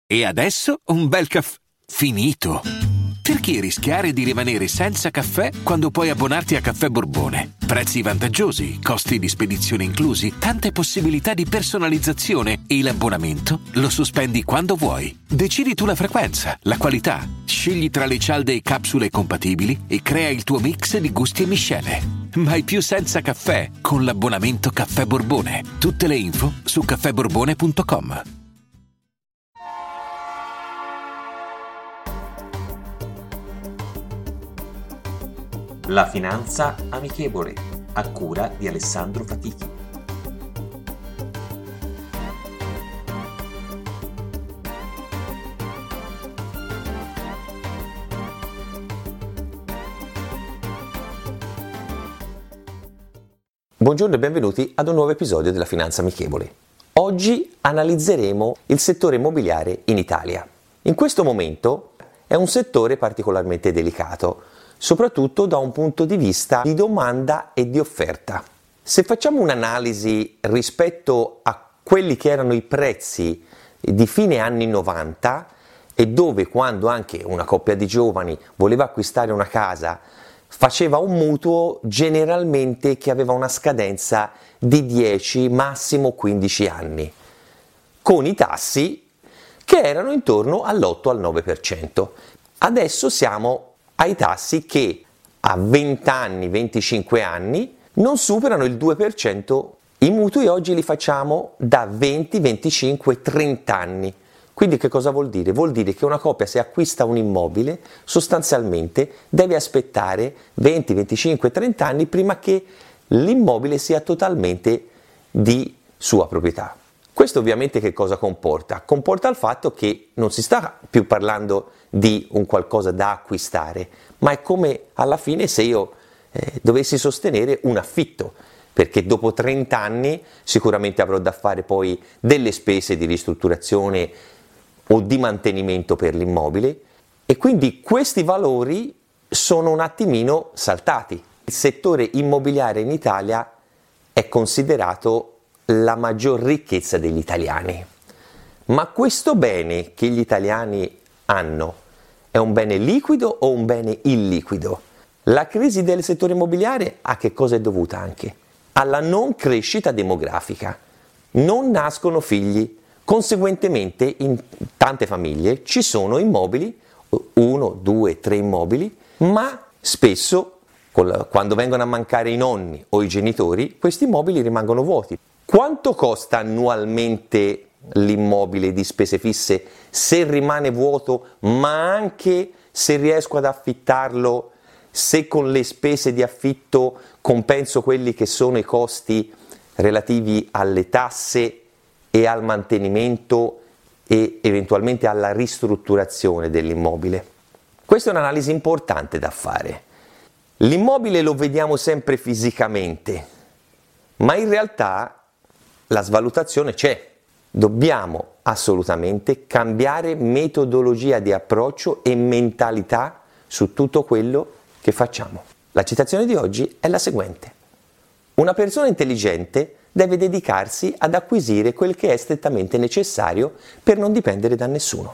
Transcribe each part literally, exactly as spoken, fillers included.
E adesso un bel caffè finito. Perché rischiare di rimanere senza caffè quando puoi abbonarti a Caffè Borbone? Prezzi vantaggiosi, costi di spedizione inclusi, tante possibilità di personalizzazione e l'abbonamento lo sospendi quando vuoi. Decidi tu la frequenza, la qualità, scegli tra le cialde e capsule compatibili e crea il tuo mix di gusti e miscele. Mai più senza caffè con l'abbonamento Caffè Borbone. Tutte le info su caffè borbone punto com. La finanza amichevole, a cura di Alessandro Fatichi. Buongiorno e benvenuti ad un nuovo episodio della Finanza Amichevole. Oggi analizzeremo il settore immobiliare in Italia. In questo momento è un settore particolarmente delicato, soprattutto da un punto di vista di domanda e di offerta. Se facciamo un'analisi rispetto a quelli che erano i prezzi di fine anni novanta e dove quando anche una coppia di giovani voleva acquistare una casa faceva un mutuo generalmente che aveva una scadenza di dieci, massimo quindici anni, con i tassi che erano intorno all'otto al nove per cento. Adesso siamo ai tassi che a venti anni, venticinque anni non superano il due per cento. I mutui oggi li facciamo da venti, venticinque, trenta anni. Quindi che cosa vuol dire? Vuol dire che una coppia, se acquista un immobile, sostanzialmente deve aspettare venti, venticinque, trenta anni prima che l'immobile sia totalmente di sua proprietà. Questo ovviamente che cosa comporta? Comporta il fatto che non si sta più parlando di un qualcosa da acquistare, ma è come alla fine se io eh, dovessi sostenere un affitto, perché dopo trenta anni sicuramente avrò da fare poi delle spese di ristrutturazione o di mantenimento per l'immobile e quindi questi valori sono un attimino saltati. Il settore immobiliare in Italia è considerato la maggior ricchezza degli italiani, ma questo bene che gli italiani hanno è un bene liquido o un bene illiquido? La crisi del settore immobiliare a che cosa è dovuta anche? Alla non crescita demografica. Non nascono figli, conseguentemente in tante famiglie ci sono immobili, uno, due, tre immobili, ma spesso quando vengono a mancare i nonni o i genitori, questi immobili rimangono vuoti. Quanto costa annualmente l'immobile di spese fisse se rimane vuoto, ma anche se riesco ad affittarlo, se con le spese di affitto compenso quelli che sono i costi relativi alle tasse e al mantenimento e eventualmente alla ristrutturazione dell'immobile? Questa è un'analisi importante da fare. L'immobile lo vediamo sempre fisicamente, ma in realtà la svalutazione c'è. Dobbiamo assolutamente cambiare metodologia di approccio e mentalità su tutto quello che facciamo. La citazione di oggi è la seguente: una persona intelligente deve dedicarsi ad acquisire quel che è strettamente necessario per non dipendere da nessuno.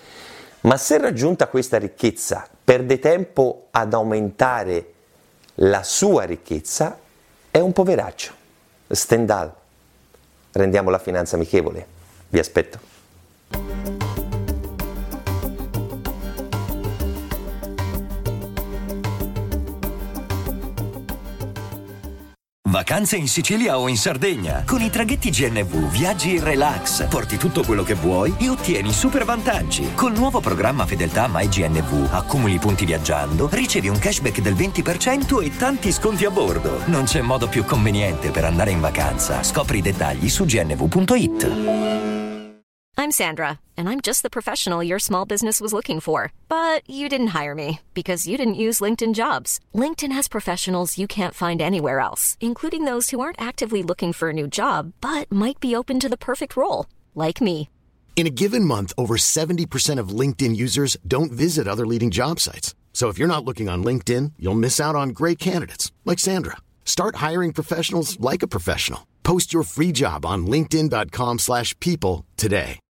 Ma se raggiunta questa ricchezza perde tempo ad aumentare la sua ricchezza, è un poveraccio. Stendhal. Rendiamo la finanza amichevole. Vi aspetto. Vacanze in Sicilia o in Sardegna. Con i traghetti G N V viaggi in relax, porti tutto quello che vuoi e ottieni super vantaggi. Col nuovo programma Fedeltà MyGNV accumuli punti viaggiando, ricevi un cashback del venti per cento e tanti sconti a bordo. Non c'è modo più conveniente per andare in vacanza. Scopri i dettagli su g n v punto i t. I'm Sandra, and I'm just the professional your small business was looking for. But you didn't hire me because you didn't use LinkedIn Jobs. LinkedIn has professionals you can't find anywhere else, including those who aren't actively looking for a new job, but might be open to the perfect role, like me. In a given month, over seventy percent of LinkedIn users don't visit other leading job sites. So if you're not looking on LinkedIn, you'll miss out on great candidates like Sandra. Start hiring professionals like a professional. Post your free job on linkedin dot com slash people today.